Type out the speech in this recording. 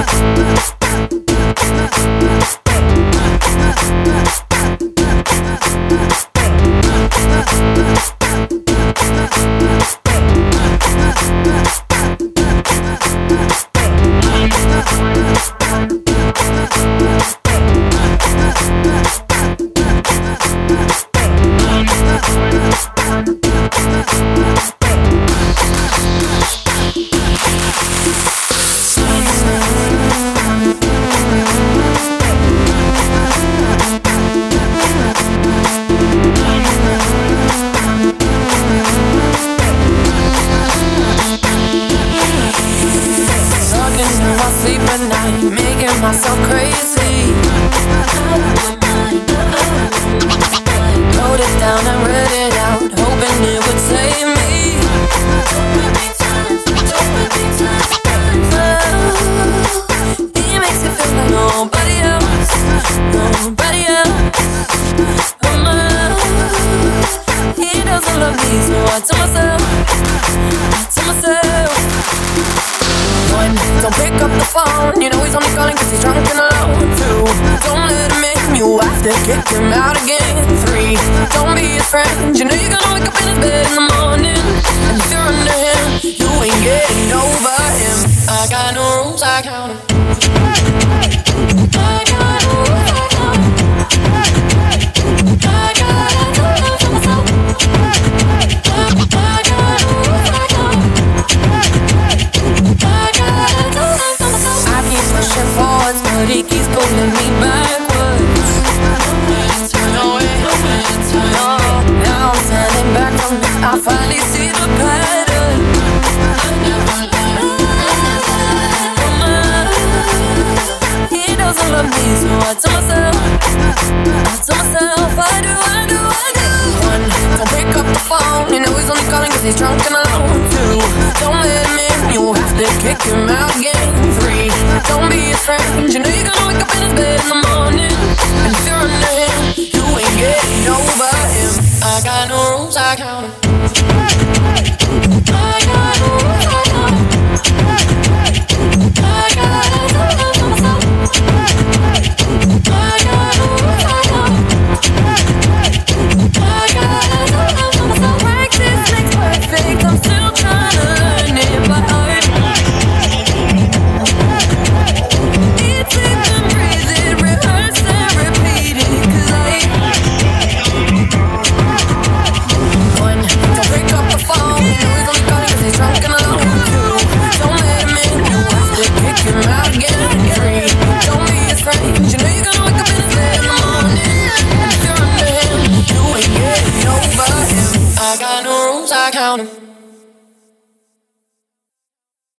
myself crazy. Wrote it down and read it out, hoping it would save me. He makes it feel like nobody else, nobody else. He doesn't love me, so I tell myself, One, don't pick up the phone, you know he's only calling cause he's drunk and alone. Two, don't let him in, you have to kick him out again. Three, don't be his friend, you know you're gonna wake up in his bed in the morning. And if you're under him, you ain't getting over him. I got no rules, I count him. I got no rules, I count him. I got no rules, I count him. Pushing forwards, but he keeps pulling me backwards. No, now I'm standing back from it. I finally see the pattern. He doesn't love me, so I tell myself, I do. One, don't pick up the phone, you know he's only calling cause he's drunk and alone. Two, don't let him in, you have to kick him out again. Three, don't be his friend, you know you're gonna wake up in his bed in the morning. And if you're under him, you ain't getting over him. I got no rules, I count him. I got no rules, I count him. I got no rules, I count him. I got no rules, I count him. Practice makes perfect, I'm still trying to learn it by heart. Eat it and breathe it, rehearse and repeat it. Cause One, don't pick up the phone, you know he's only calling cause he's drunk and alone. Two, don't let him in, you have to kick him out again. Three, don't be his friend, you know you're gonna wake up in his bed in the morning. And if you're under him, you ain't getting over him. I got no rules, I count him.